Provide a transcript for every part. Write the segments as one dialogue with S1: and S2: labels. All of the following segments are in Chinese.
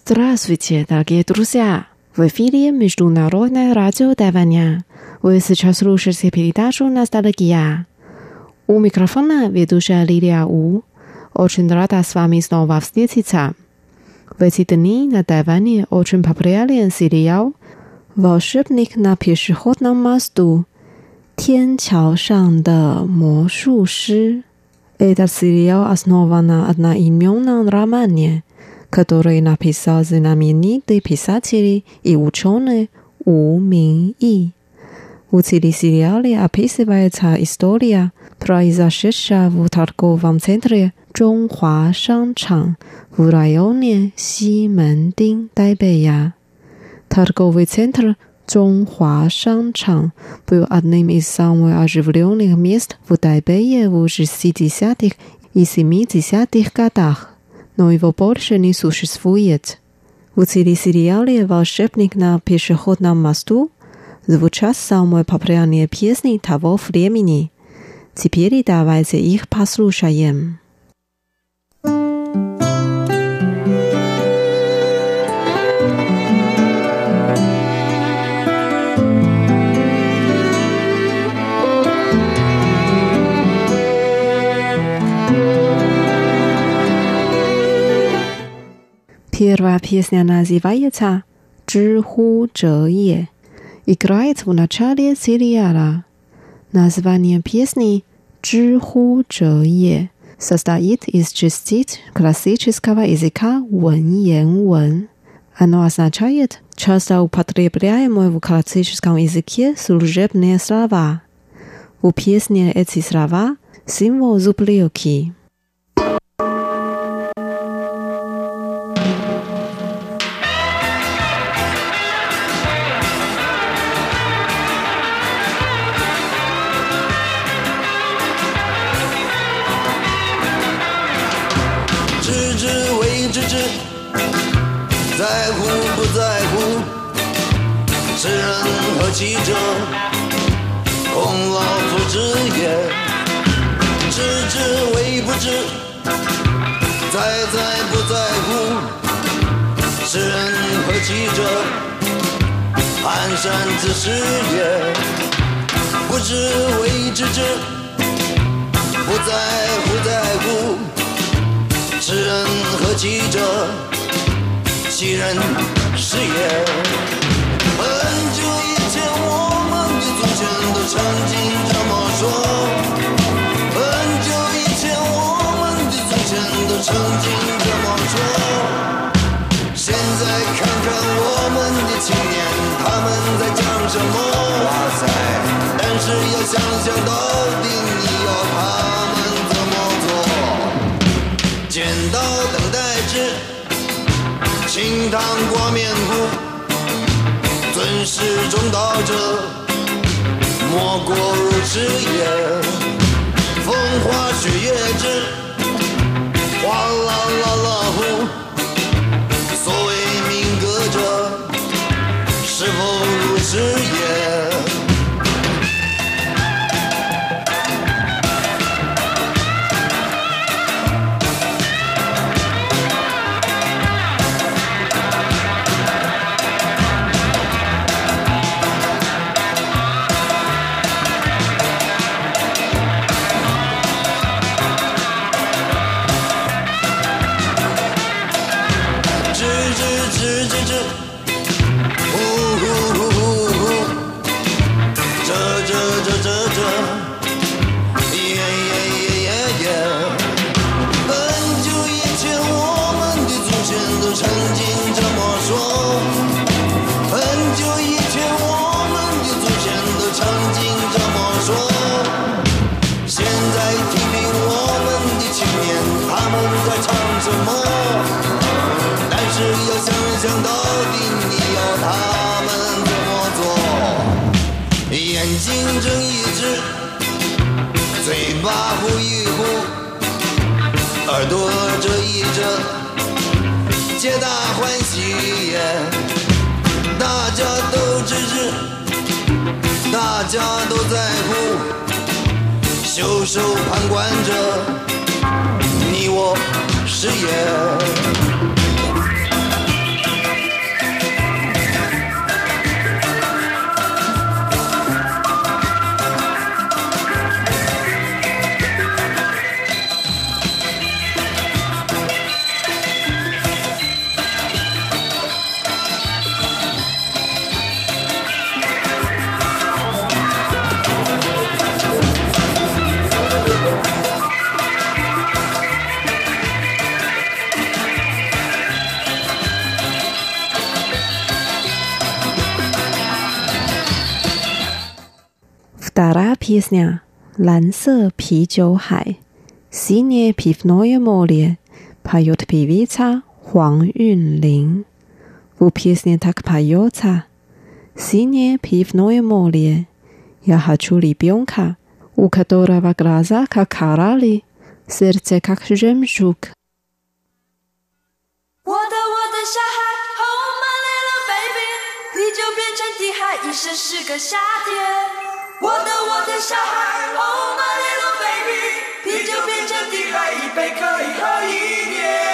S1: Здравствуйте, дорогие друзья! В эфире Международное радио Тайваня. Вы сейчас слушаете передачу «Ностальгия». У микрофона ведущая Лилия У. Очень рада с вами снова встретиться. В эти дни на Тайване очень популярен сериал «Волшебник на пешеходном мосту. 天桥上的魔术师». Этот сериал основан на одноименном романе, который написал знаменитый писатель и ученый У Миньи. В телесериале описывается история, произошедшая в торговом центре Чжонхуа Шанчжан в районе Симэндин, Тайбэя. Торговый центр Чжонхуа Шанчжан был одним из самых оживленных мест в Тайбэе в 60-х и 70-х годах, но его больше не существует. В телесериале «Волшебник на пешеходном мосту» звучат самые популярные песни того времени. Теперь давайте их послушаем. Первая песня называется «知乎者也», играет в начале сериала. Название песни «知乎者也» состоит из частиц классического языка文言文. Оно означает часто употребляемые в классическом языке служебные слова. В песне эти слова – символ зубрилки.
S2: 在乎不在乎，是人何其者，孔老夫子也。知之为不知，在不在乎，是人何其者，蹒跚之事也。不知为知之，不在乎，是人何其者，其人是也。很久以前我们的祖先都曾经这么说，很久以前我们的祖先都曾经这么说。现在看看我们的青年，他们在讲什么？哇塞！但是要想想到底你要他们怎么做？剪刀等待制，清汤挂面糊，尊师重道者，莫过如此也。风花雪月之，哗啦啦啦呼。所谓民歌者，是否如此也？想到底你要他们怎么做？眼睛睁一只，嘴巴呼一呼，耳朵遮一遮，皆大欢喜也。大家都支持，大家都在乎，袖手旁观者，你我是也。
S1: песня蓝色啤酒海 Синее пивное море поет певица Хуан Юнлин. В песне так поется Синее пивное море. Я хочу ребенка, у которого глаза как коралли, сердце как жемчуг.
S3: 我的小孩 Oh my little baby 啤酒变成地海一生是个夏天我的小孩 Oh my little baby 啤酒变成地海一杯可以喝一年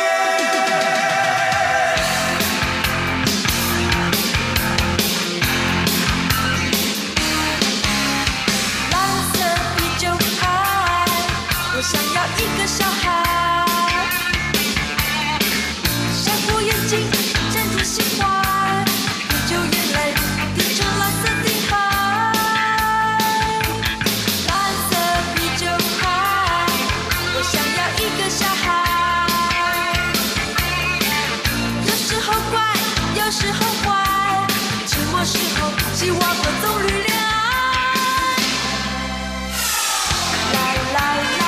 S3: 蓝色啤酒海我想要一个小孩珍珠心怀啤酒眼泪滴成蓝色的海蓝色啤酒海我想要一个小孩有时候乖有时候坏寂寞时候希望和棕榈恋爱啦啦啦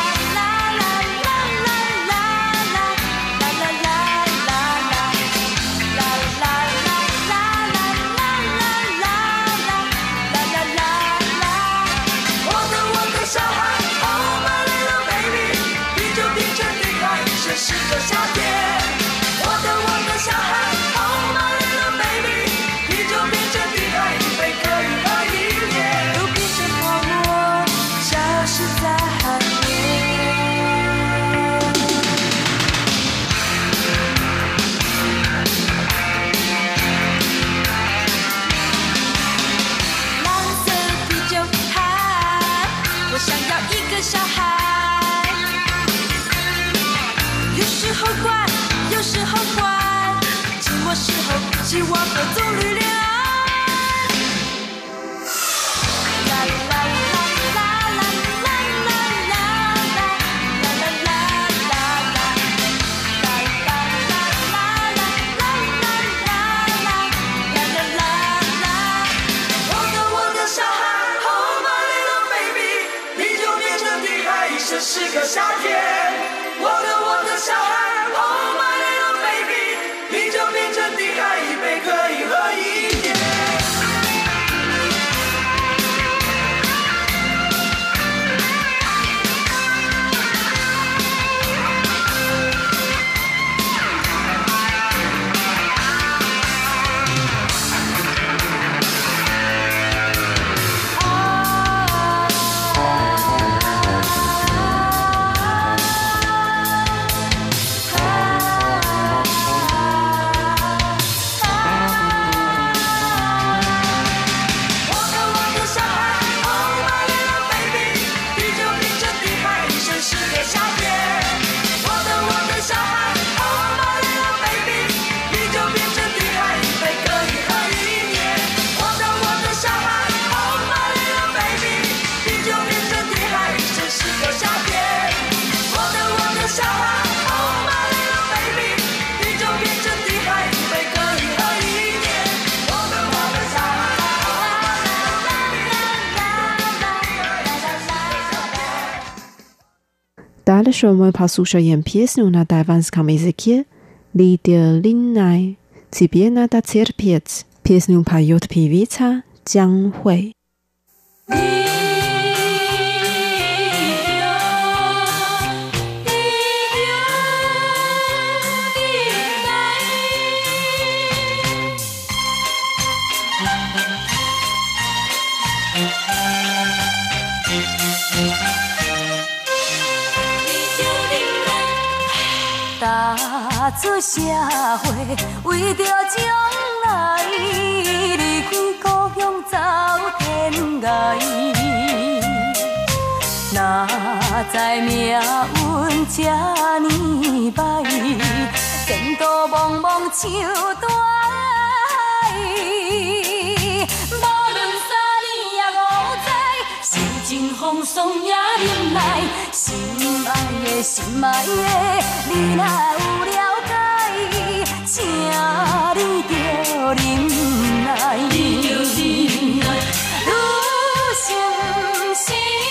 S3: 是个夏天我的小孩 Oh my little baby 啤酒变成地海一杯可以喝一年都变成泡沫消失在海面蓝色啤酒海我想要一个小孩有时候乖有时候坏寂寞时候希望和棕榈恋爱啦啦啦啦啦啦啦啦啦啦啦啦啦啦我的小孩 Oh my little baby 啤酒变成地海一生是个夏天我的小孩 Oh my little baby 啤酒变成地海一杯可以喝一年
S1: Дальше мы послушаем песню на тайванском языке «Лидия Линнай». Тебе надо терпеть. Песню поет певица Джан Hui.
S3: 踏出社会，为着将来，离开故乡走天涯。哪知命运这呢歹，前途茫茫像大海。无论3年也5载，心情风霜也忍耐。心爱的，你若有了解，请你着忍耐。你心心。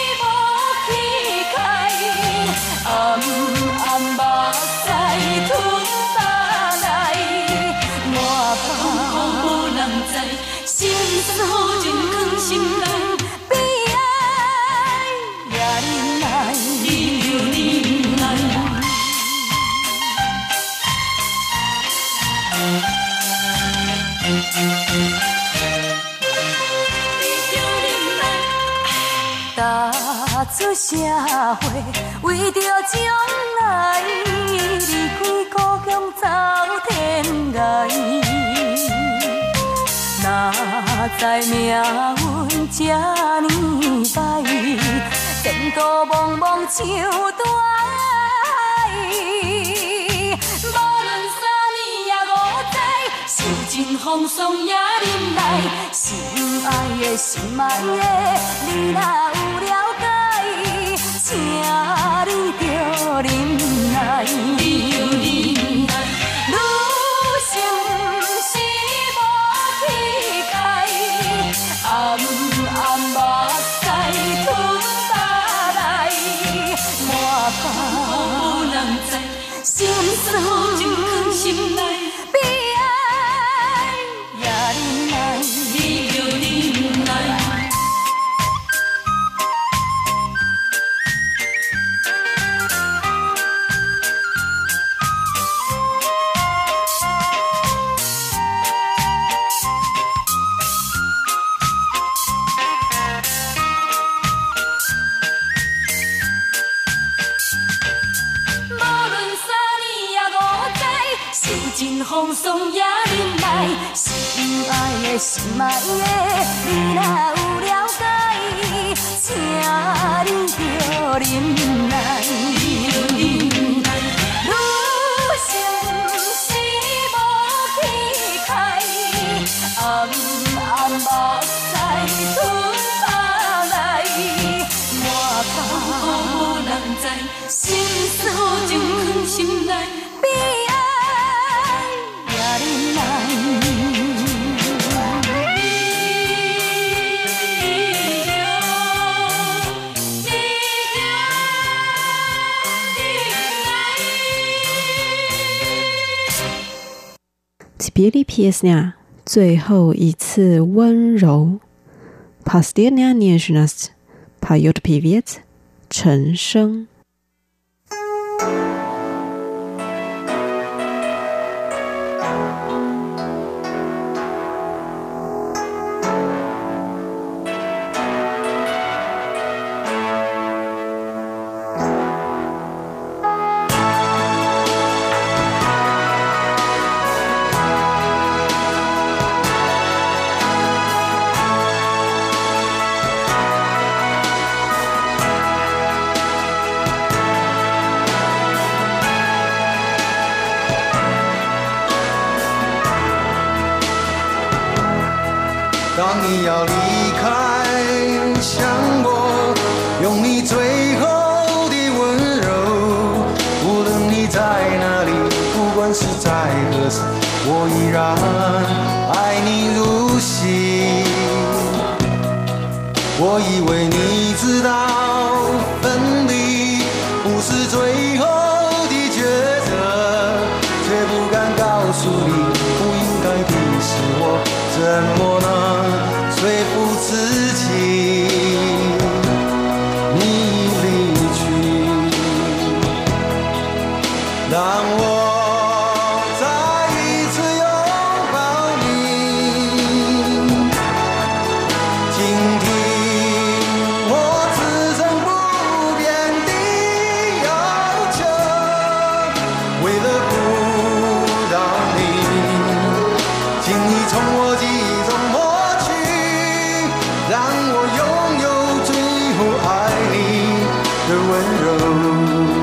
S3: 社会，为着将来离开故乡走天涯。哪知命运这呢歹，前途茫茫像大海。无论三年也五载，受尽风霜也忍耐。心爱的心爱的，你若有了解，请你着忍耐。女性是无气概，暗暗目屎吞巴来，满腹无人知，心酸情藏心内，悲哀也忍耐，你着忍耐。风霜也忍耐，心爱的心爱的，你若有了解，请你着忍耐。女性是无气概，暗暗目屎吞下来，满腹无人知，心酸情藏心内，悲哀。
S1: Теперь песня最后一次温柔 Последняя нежность поет певец 陈升。
S2: 当你要离开，想我，用你最后的温柔。无论你在哪里，不管是在何时，我依然爱你如昔。我以为你知道，分离不是最后的抉择，却不敢告诉你，不应该的是我，怎么能说服自己？你离去，让我再一次拥抱你，倾听我此生不变的要求。为了不到你，请你从我记忆中抹去，让我拥有最后爱你的温柔。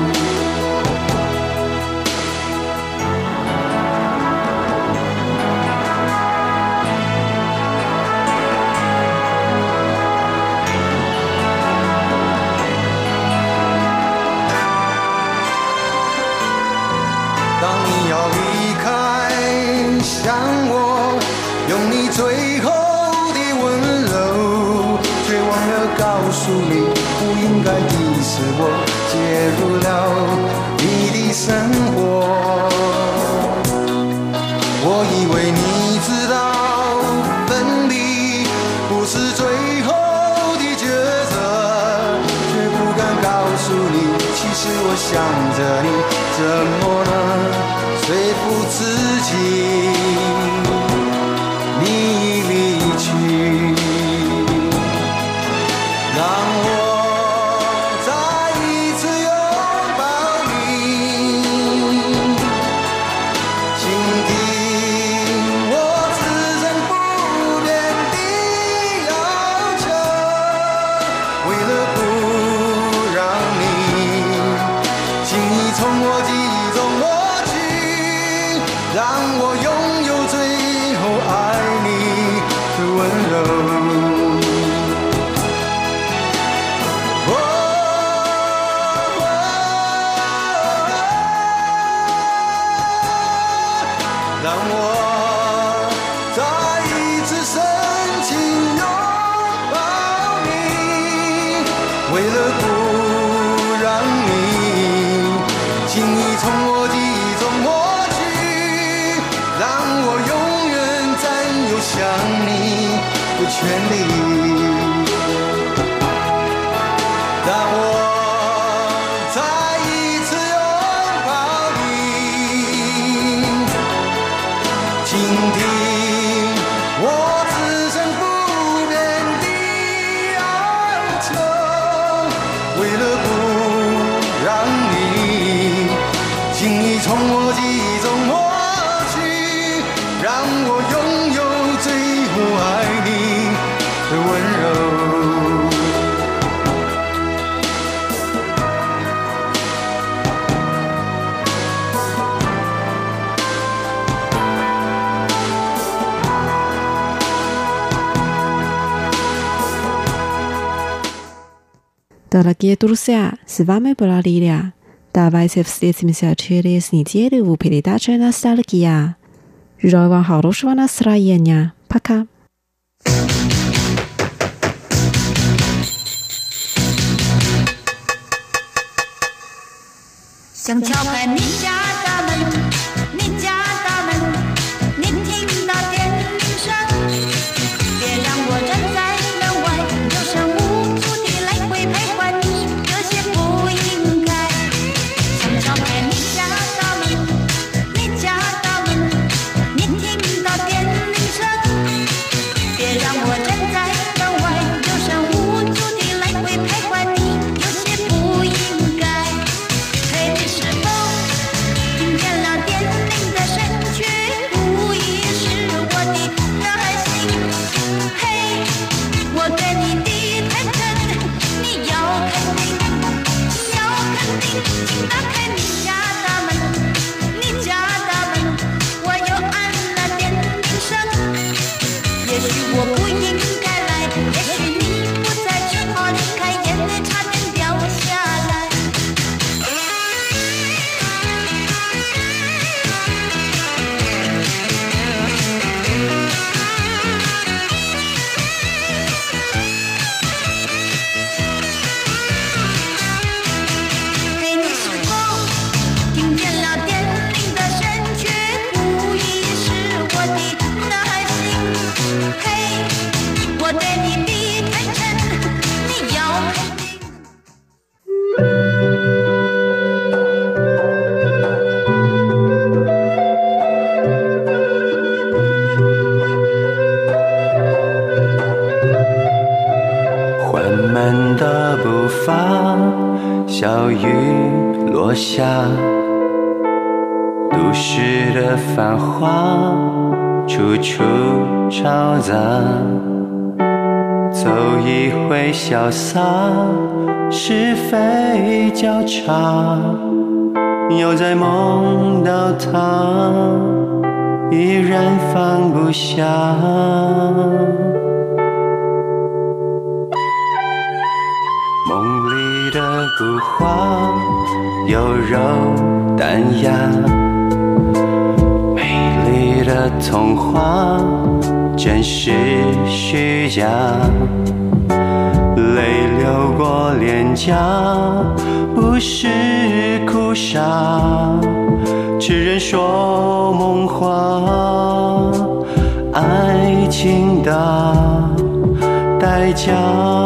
S2: 当你要离开，想我，用你最后的温柔，却忘了告诉你，不应该的是我介入了你的生活。我以为你知道，分离不是最后的抉择，却不敢告诉你，其实我想着你，怎么能说服自己？你离去，让我再请你从我记忆中抹去，让我永远占有想你的权利。让我再一次拥抱你，倾听我此生不变的哀求。为了不让你轻易从我记忆中抹去，让我拥有最后爱你的温柔。
S1: Дорогие друзья, с вами была Лилия. Давайте встретимся через неделю в передаче «Ностальгия». Желаю вам хорошего настроения. Пока.
S3: 想敲开你家大门，你家大门，你听到电铃声，别让我站在门外，有声无足地来回徘徊，你有些不应该。想敲开你家大门，你家大门，你听到电铃声，别让我站在门外，有声无足地来回徘徊，你有些不应该。嘿，你是否听见了电铃的声曲？无疑是我的耐心。嘿，我对你的坦诚，你要肯定，要肯定。请打开你家大门，你家大门，我又按了电铃声。也许我不应该来，也许你不在，只好离开，眼泪差点掉下来。嘿，你是否听见了电铃的声曲？无疑是我的耐心。嘿，我对你的坦诚，你要肯定。
S2: 缓慢的步伐，小雨落下，都市的繁华处处嘈杂，走一回潇洒，是非交叉，又再梦到他，依然放不下。梦里的古画有柔淡雅，美丽的童话真实虚假，泪流过脸颊，不是哭傻，痴人说梦话，爱情的代价。